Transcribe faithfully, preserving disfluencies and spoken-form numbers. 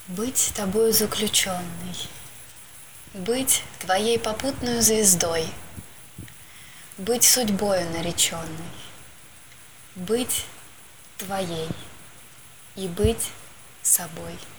Быть тобою заключенной, быть твоей попутную звездой, быть судьбою нареченной, быть твоей и быть собой.